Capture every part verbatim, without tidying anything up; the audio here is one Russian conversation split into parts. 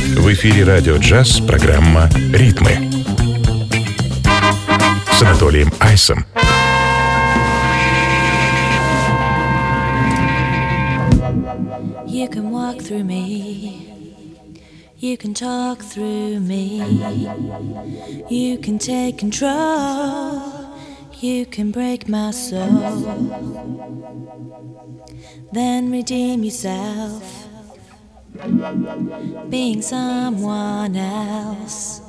В эфире радио «Джаз» программа «Ритмы» с Анатолием Айсом. You can walk through me, you can talk through me, you can take control, you can break my soul, then redeem yourself, being someone else.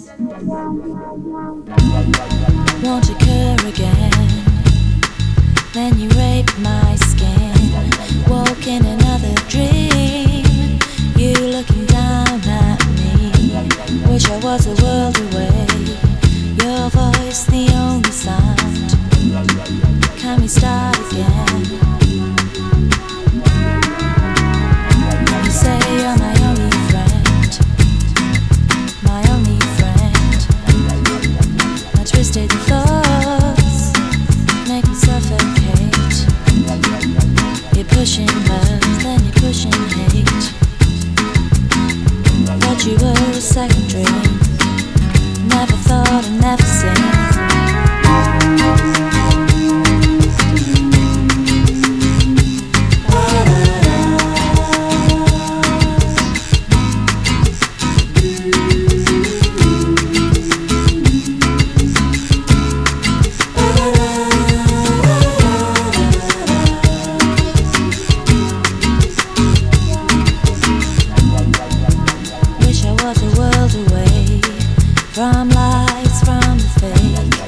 Won't occur again, then you rape my skin, woke in another dream, you looking down at me, wish I was a world away, your voice the only sound, can we start again? You say you're my only friend, my only friend, my twisted thoughts make me suffocate, you're pushing love, then you're pushing hate, thought you were a second dream, never thought and never seen. From lights, from the fake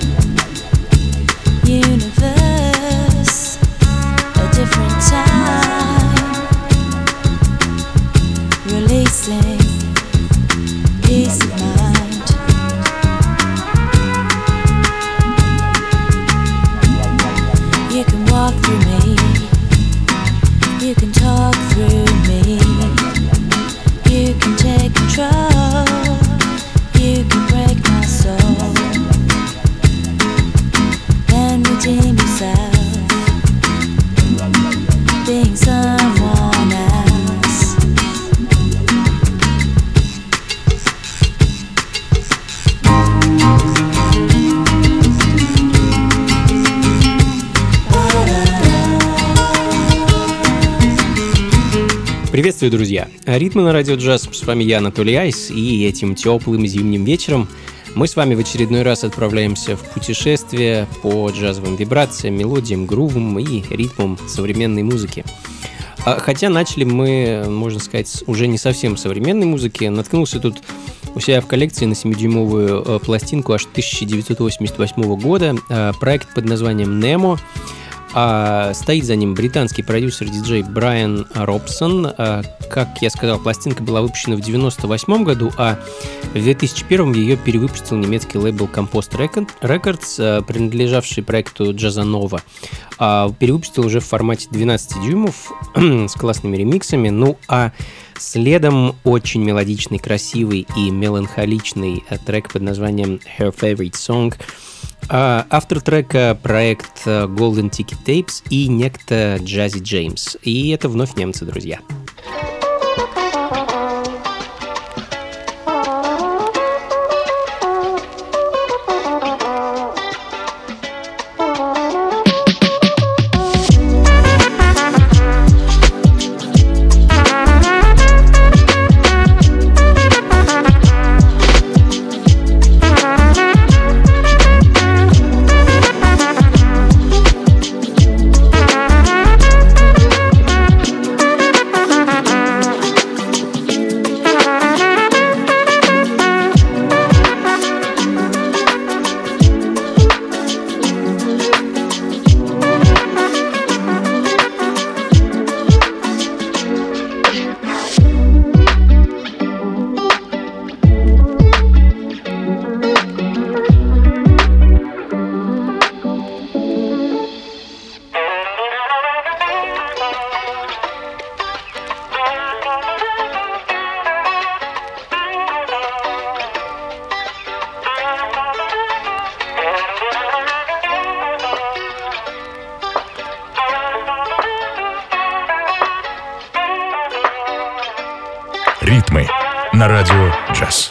universe, a different time, releasing peace of mind. You can walk through me, you can talk through me, you can take control, you can break my soul, then redeem yourself, being someone else. Приветствую, друзья! Ритмы на радио «Джаз». С вами я, Анатолий Айс, и этим теплым зимним вечером мы с вами в очередной раз отправляемся в путешествие по джазовым вибрациям, мелодиям, грувам и ритмам современной музыки. Хотя начали мы, можно сказать, уже не совсем современной музыки. Наткнулся тут у себя в коллекции на семидюймовую пластинку аж тысяча девятьсот восемьдесят восьмого года, проект под названием «Nemo». А стоит за ним британский продюсер-диджей Брайан Робсон. А, как я сказал, пластинка была выпущена в девяносто восьмом году, а в две тысячи первом ее перевыпустил немецкий лейбл Compost Records, принадлежавший проекту Jazzanova. А, перевыпустил уже в формате двенадцать дюймов с классными ремиксами. Ну а следом очень мелодичный, красивый и меланхоличный трек под названием Her Favorite Song. Автор трека — проект Golden Ticket Tapes и некто Jazzy James. И это вновь немцы, друзья. Ритмы на радио джаз.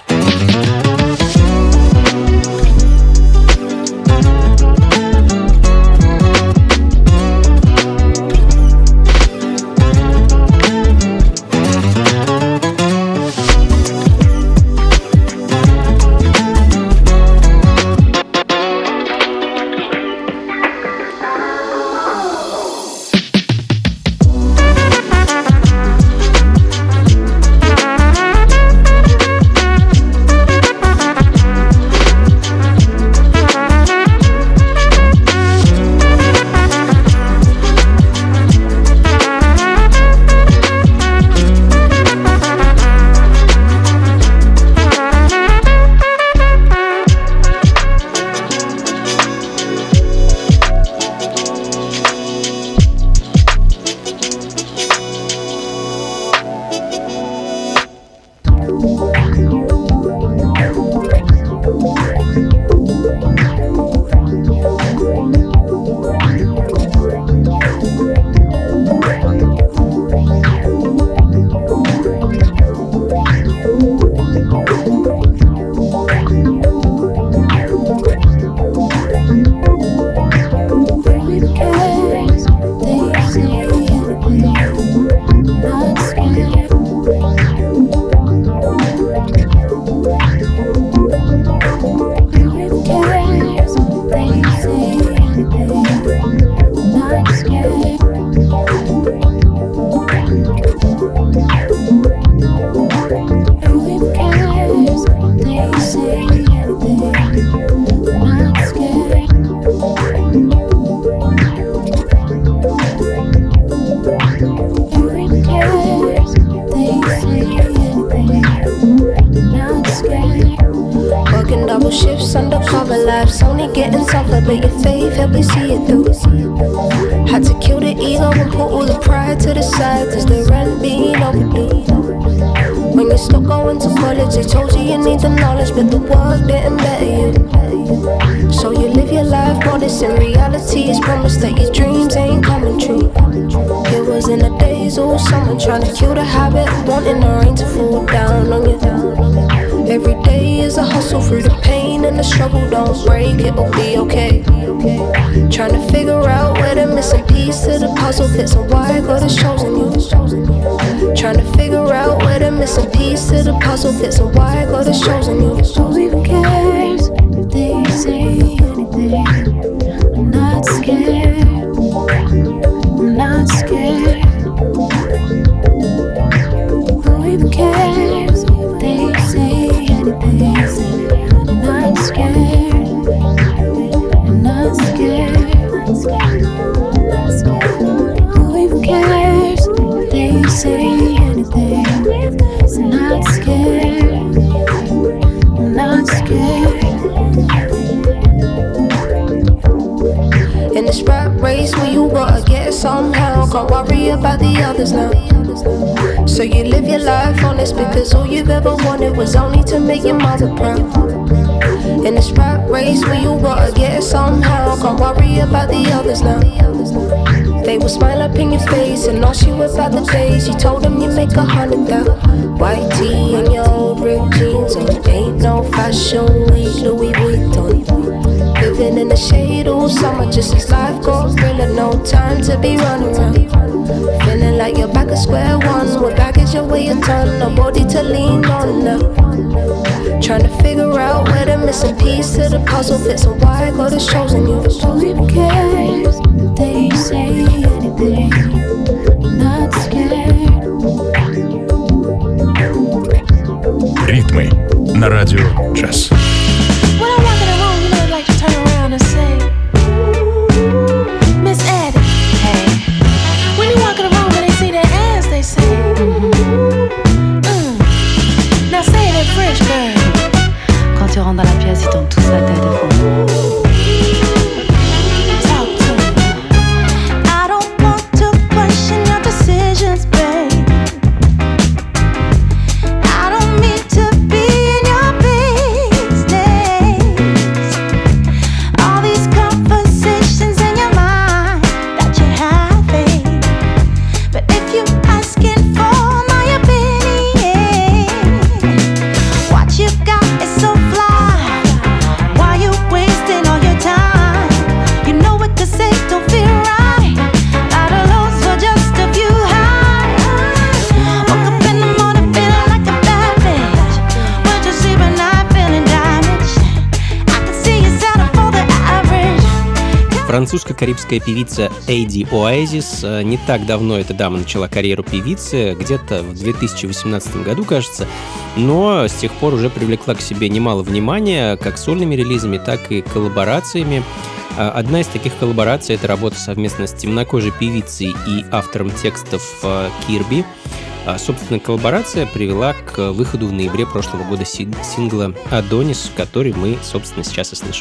Ритмы на радио джаз. Dans la pièce, ils tournent tous la tête et font decisions, babe. I don't mean to be in your face. Французско-карибская певица Эйди Оазис. Не так давно эта дама начала карьеру певицы, где-то в две тысячи восемнадцатом году, кажется, но с тех пор уже привлекла к себе немало внимания, как сольными релизами, так и коллаборациями. Одна из таких коллабораций — это работа совместно с темнокожей певицей и автором текстов Кирби. Собственно, коллаборация привела к выходу в ноябре прошлого года сингла «Адонис», который мы, собственно, сейчас и слышим.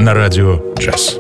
на радио джаз.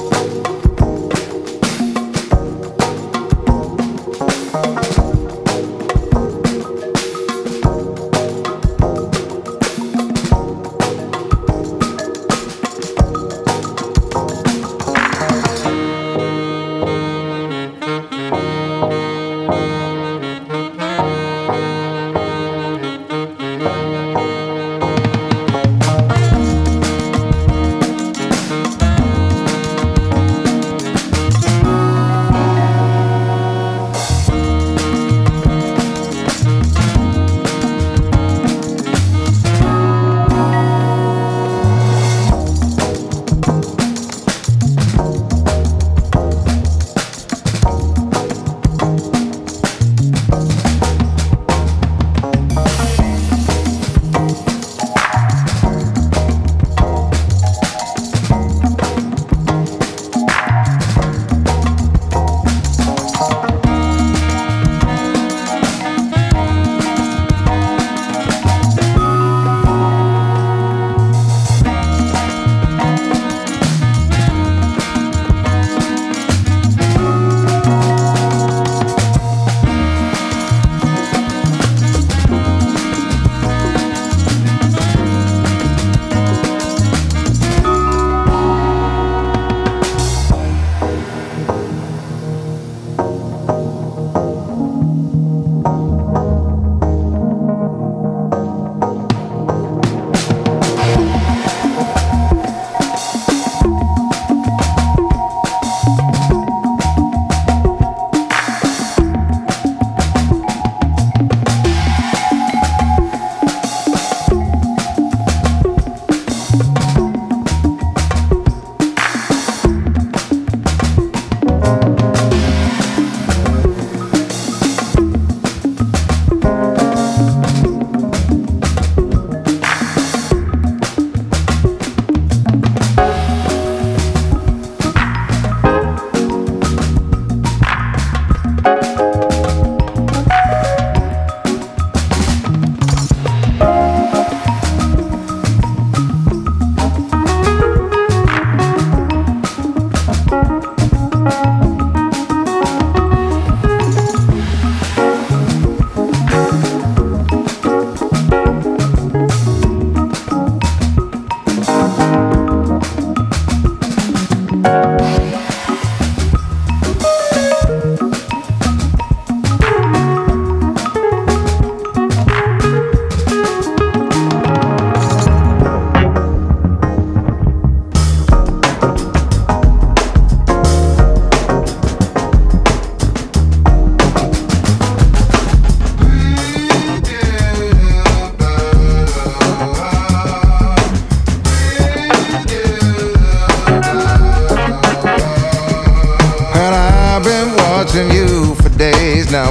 now,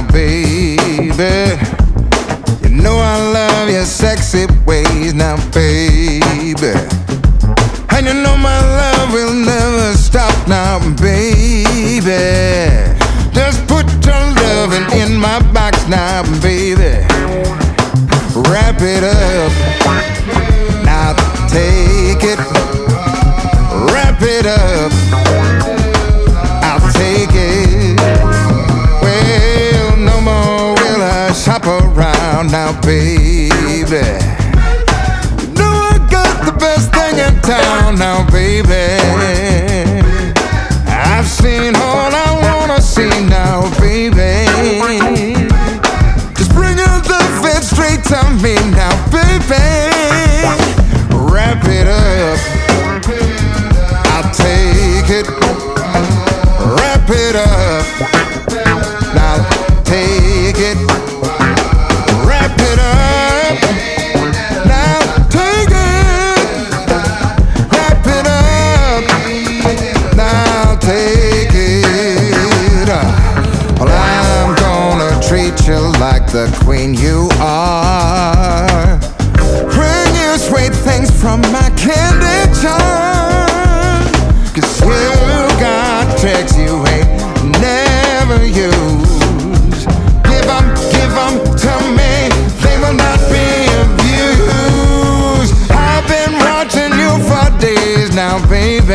baby. You know I love your sexy ways now, baby. And you know my love will never stop now, baby. Just put your loving in my box now, baby. Wrap it up, now take it. Wrap it up, I'll take it. Well, no more will I shop around now, baby. You know I got the best thing in town now, baby. I've seen all I wanna see now, baby. Just bring your love it straight to me now, baby. Wrap it up, I'll take it. Wrap it up, now take it. Wrap it up, now take it. Wrap it up, now take it. Well, I'm gonna treat you like the queen you are. Bring you sweet things from my candy jar. Cause you got tricks you ain't never used. Give 'em, give 'em to me, they will not be abused. I've been watching you for days now, baby.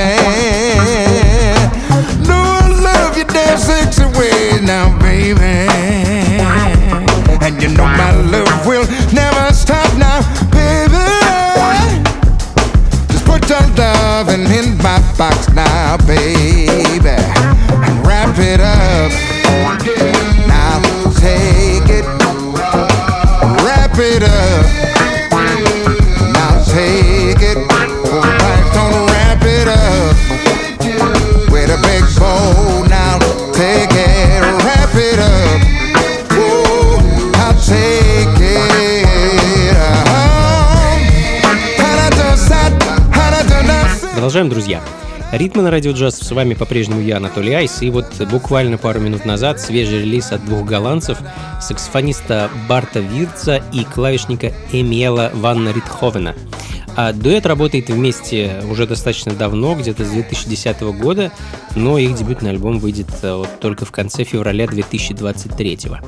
Продолжаем, друзья. Ритмы на радио джаз, с вами по-прежнему я, Анатолий Айс, и вот буквально пару минут назад свежий релиз от двух голландцев, саксофониста Барта Вирца и клавишника Эмиэла Ван Ритховена. А дуэт работает вместе уже достаточно давно, где-то с две тысячи десятого года, но их дебютный альбом выйдет вот только в конце февраля две тысячи двадцать третьего.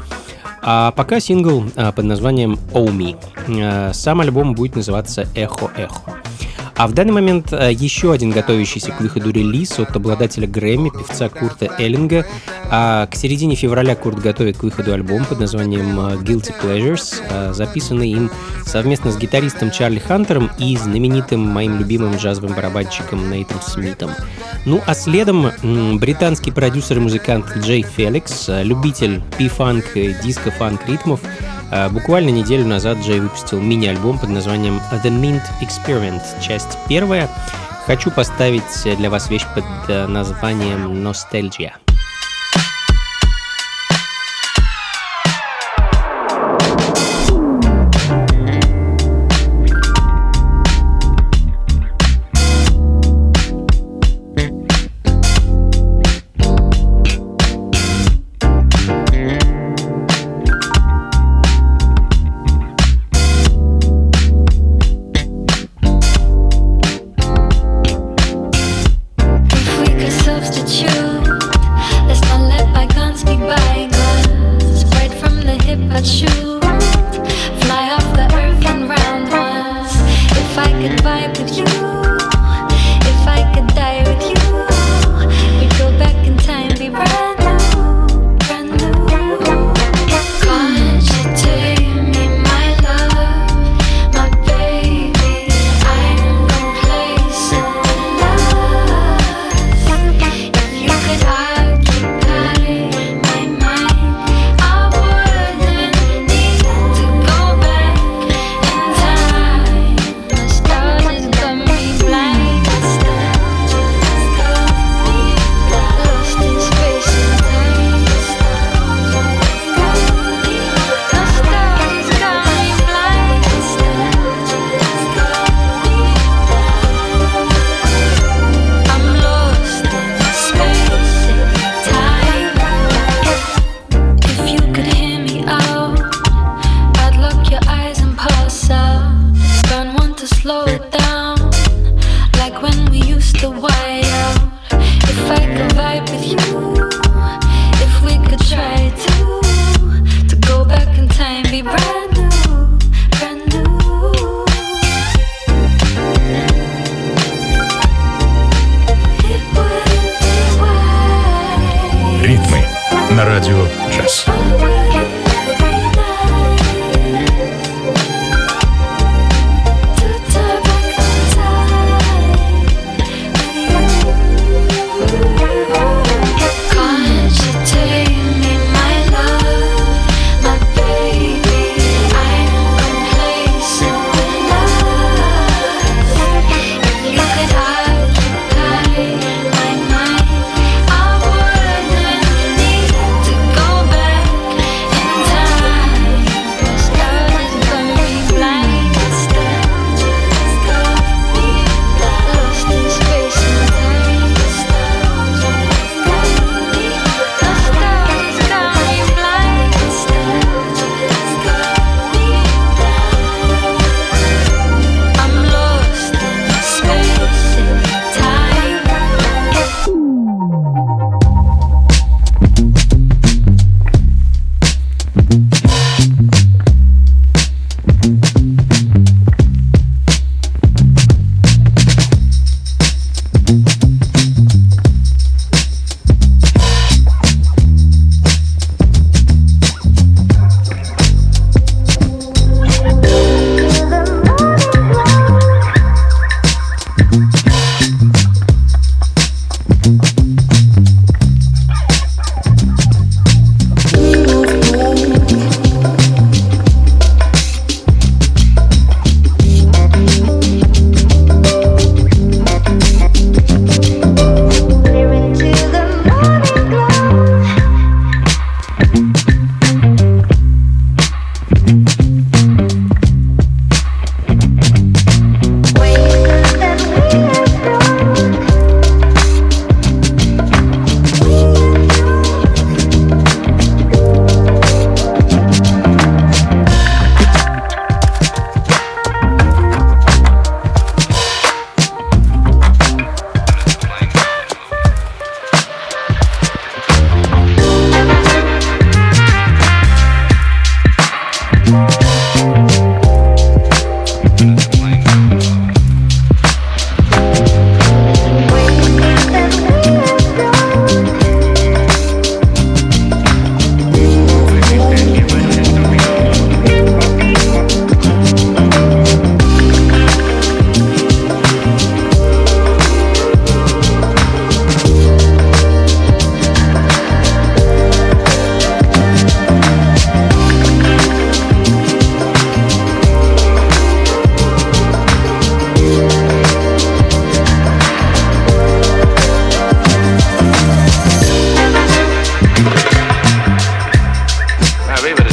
А пока сингл под названием «Oh Me». Сам альбом будет называться «Эхо-эхо». А в данный момент еще один готовящийся к выходу релиз от обладателя Грэмми, певца Курта Эллинга. А к середине февраля Курт готовит к выходу альбом под названием Guilty Pleasures, записанный им совместно с гитаристом Чарли Хантером и знаменитым моим любимым джазовым барабанщиком Нейтом Смитом. Ну а следом британский продюсер и музыкант Джей Феликс, любитель пи-фанк и диско-фанк ритмов. Буквально неделю назад Джей выпустил мини-альбом под названием The Mint Experiment, часть первая. Хочу поставить для вас вещь под названием Nostalgia. Thank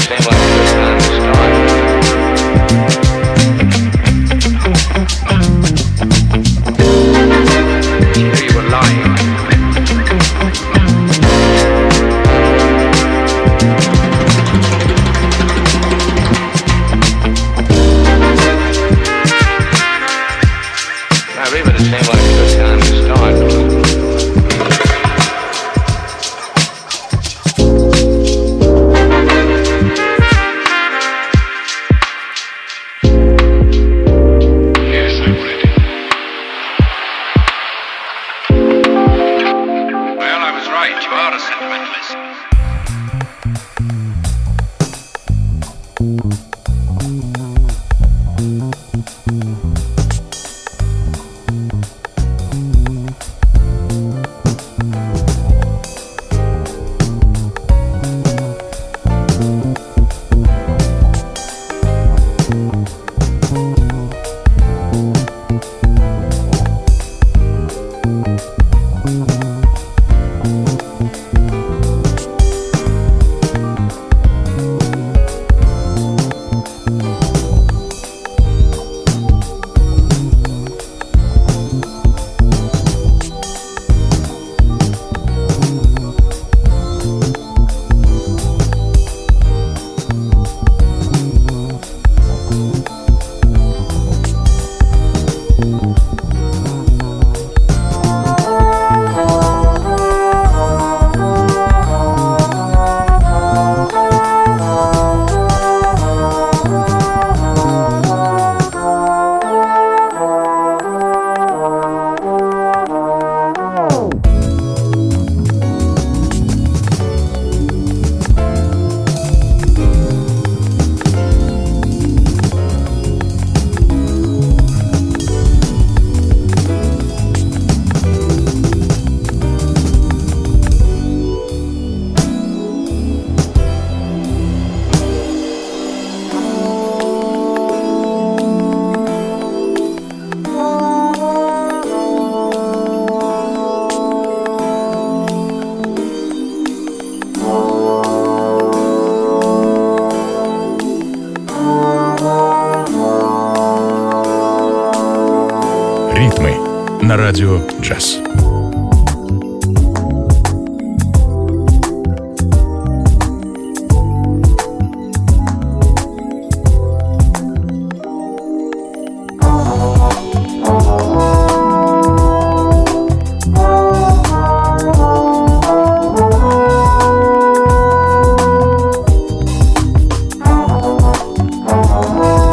на радио «Джаз».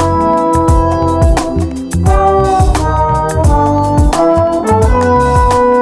Oh,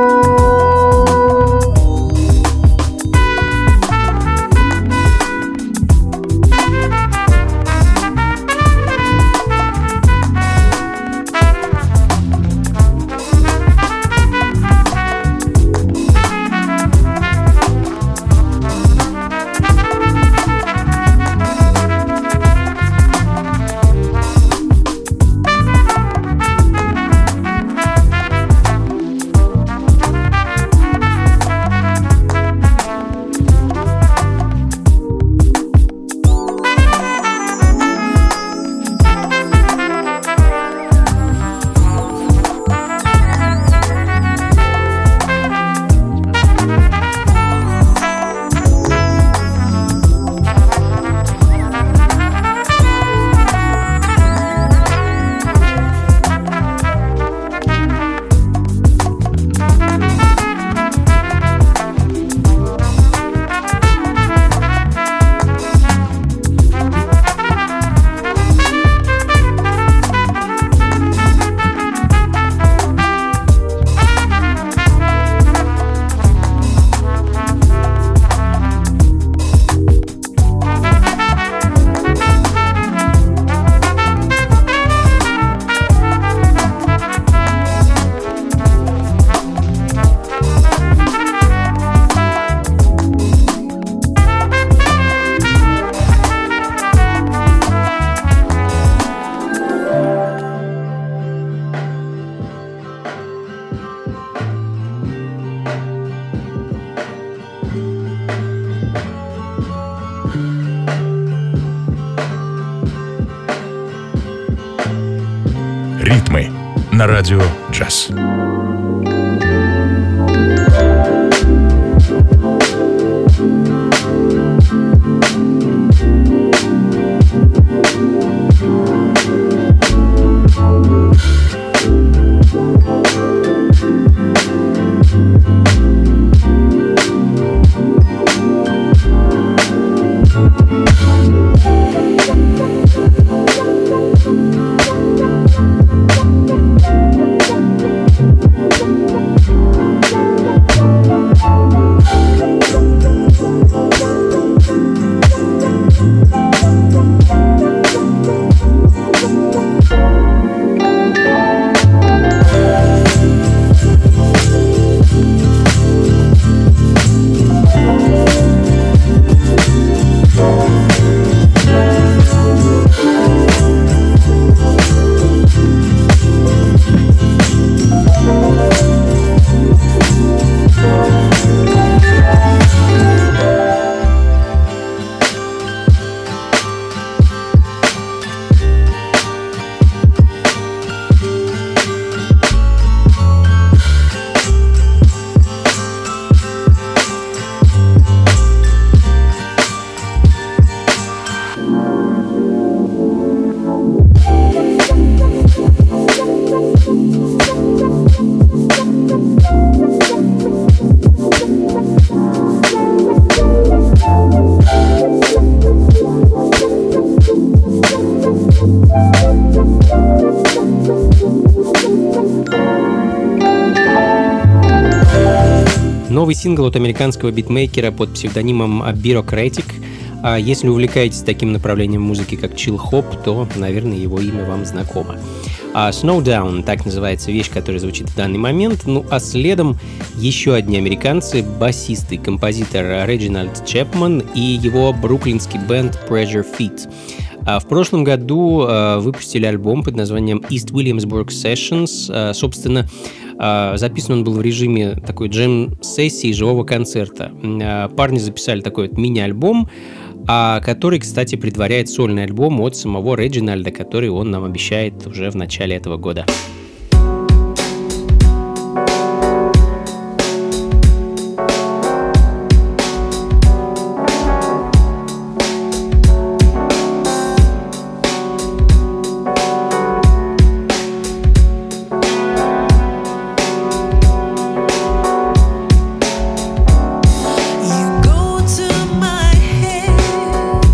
Ритмы на радио джаз. Новый сингл от американского битмейкера под псевдонимом Bureaucratic. А если увлекаетесь таким направлением музыки, как чилл-хоп, то, наверное, его имя вам знакомо. А Snowdown, так называется вещь, которая звучит в данный момент. Ну а следом еще одни американцы, басист и композитор Реджинальд Чепман и его бруклинский бенд Pressure Fit. А в прошлом году а, выпустили альбом под названием East Williamsburg Sessions. А, собственно, а, записан он был в режиме такой джем-сессии, живого концерта. А, парни записали такой вот мини-альбом, а, который, кстати, предваряет сольный альбом от самого Реджинальда, который он нам обещает уже в начале этого года.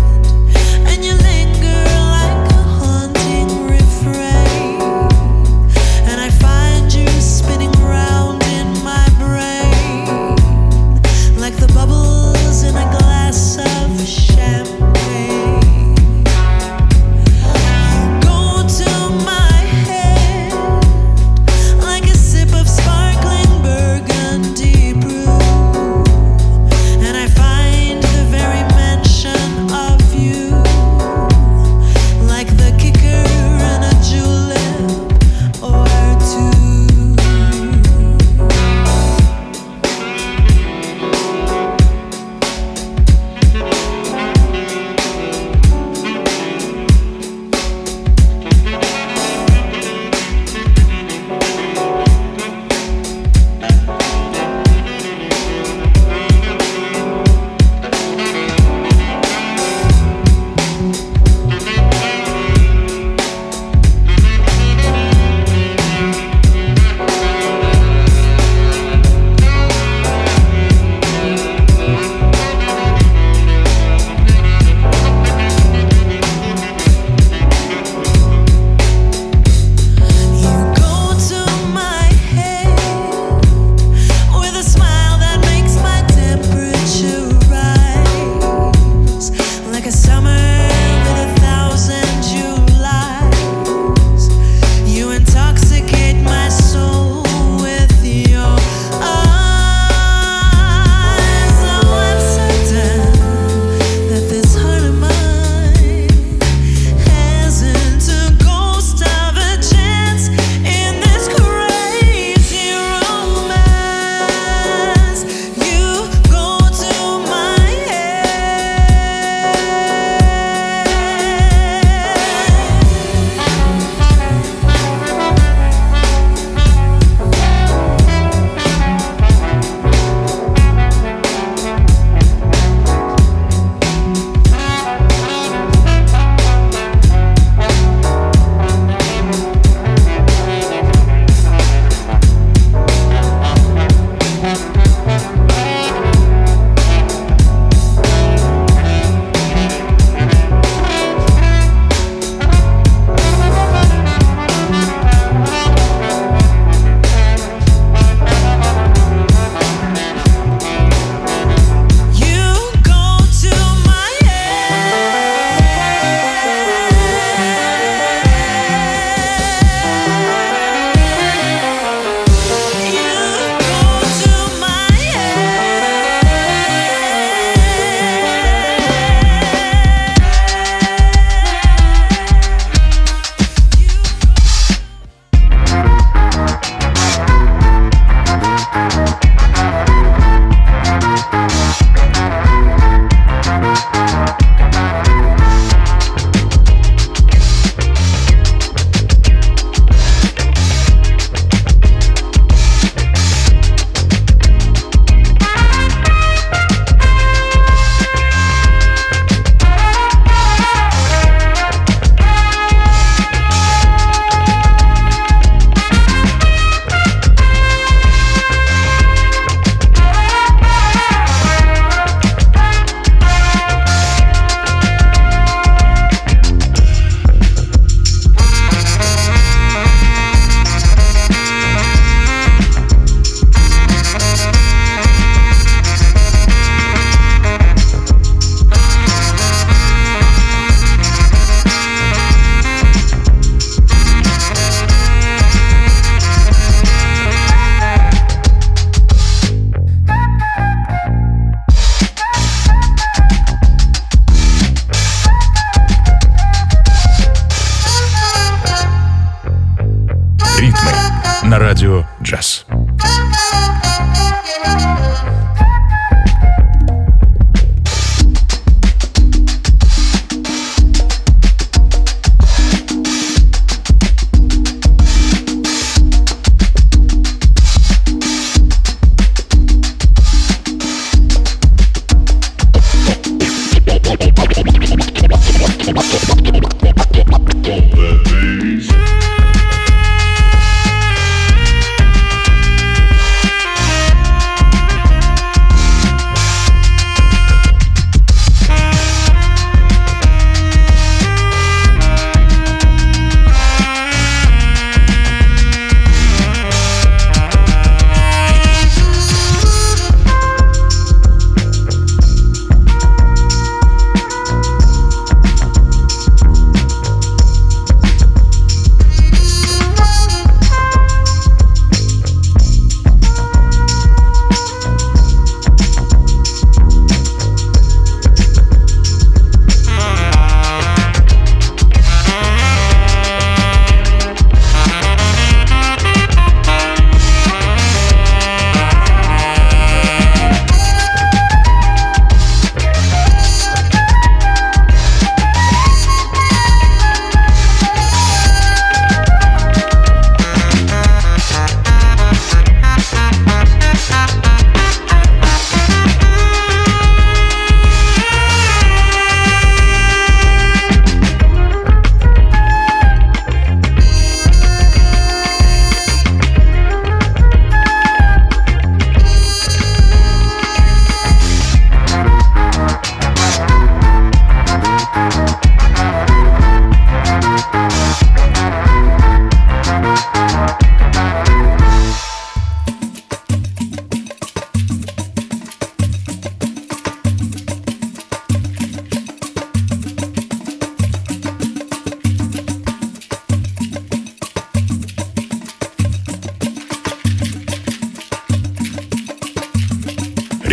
And you linger like a haunting refrain.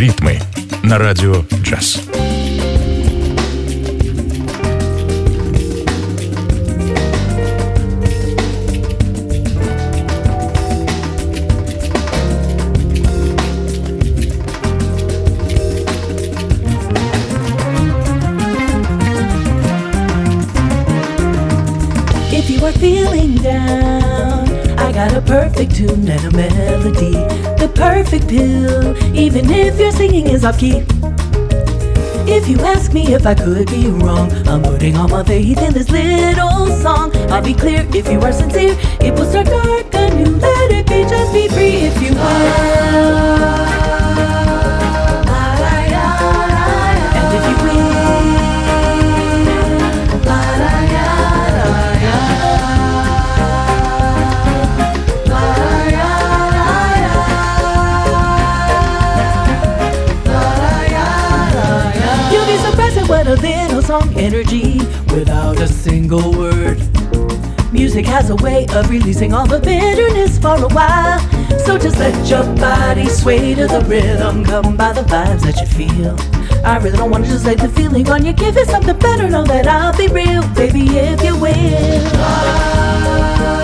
Ритмы на радио джаз. If you are feeling down, I got a perfect tune and a melody, the perfect pill, even if your singing is off key. If you ask me if I could be wrong, I'm putting all my faith in this little song. I'll be clear, if you are sincere, it will start dark anew. Let it be, just be free if you will. And if you will, what a little song energy without a single word. Music has a way of releasing all the bitterness for a while. So just let your body sway to the rhythm, come by the vibes that you feel. I really don't want to just let the feeling on you. Give it something better, know that I'll be real, baby, if you will.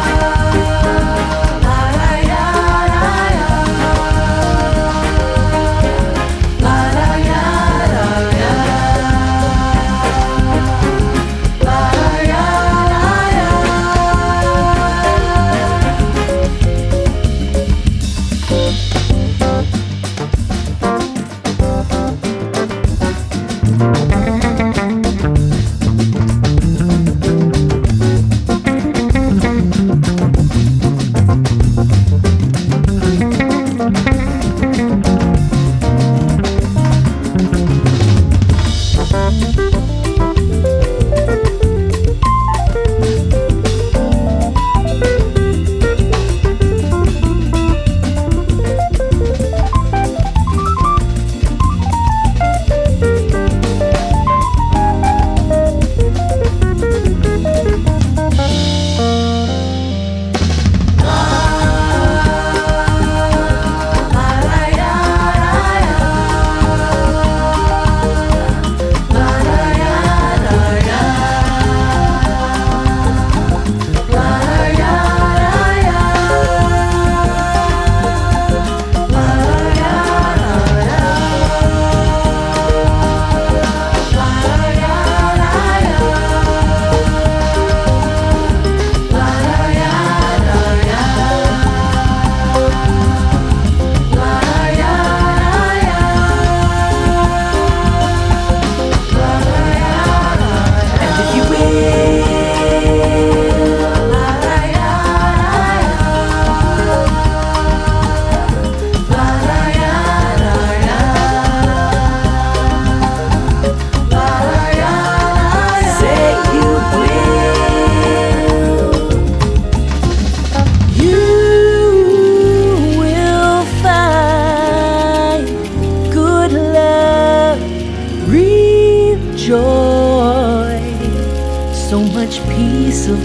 Of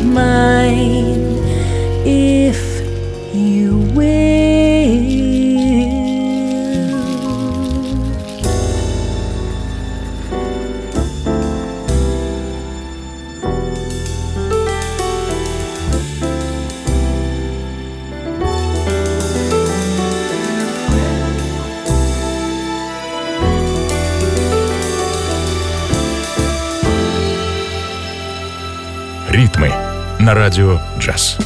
mine, if you will. Ритмы на радио джаз.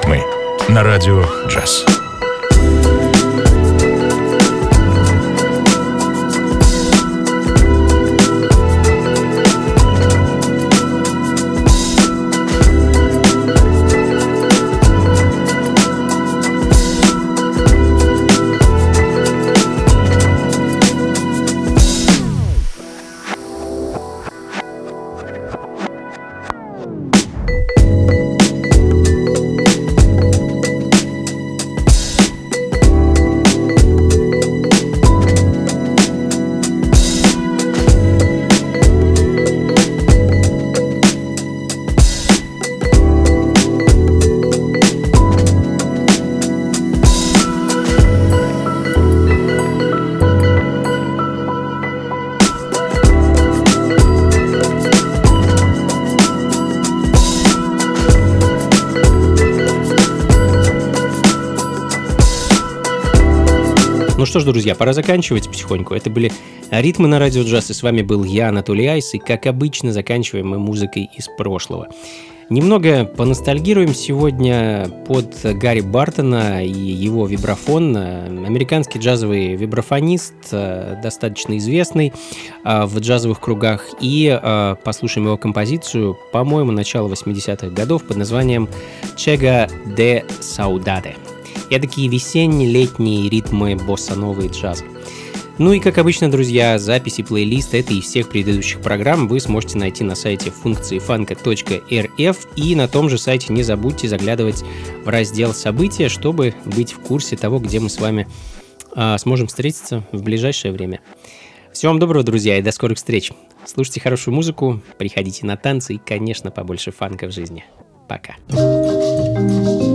Ритмы на радио «Джаз». Ну что ж, друзья, пора заканчивать потихоньку. Это были ритмы на радио джаз, и с вами был я, Анатолий Айс, и, как обычно, заканчиваем мы музыкой из прошлого. Немного поностальгируем сегодня под Гарри Бартона и его вибрафон. Американский джазовый вибрафонист, достаточно известный в джазовых кругах. И послушаем его композицию, по-моему, начала восьмидесятых годов под названием «Chega de Saudade». Эдакие весенние, летние ритмы босса-новы и джаза. Ну и, как обычно, друзья, записи плейлиста этой и всех предыдущих программ вы сможете найти на сайте функции фанка точка эр эф, и на том же сайте не забудьте заглядывать в раздел «События», чтобы быть в курсе того, где мы с вами а, сможем встретиться в ближайшее время. Всего вам доброго, друзья, и до скорых встреч. Слушайте хорошую музыку, приходите на танцы и, конечно, побольше фанка в жизни. Пока.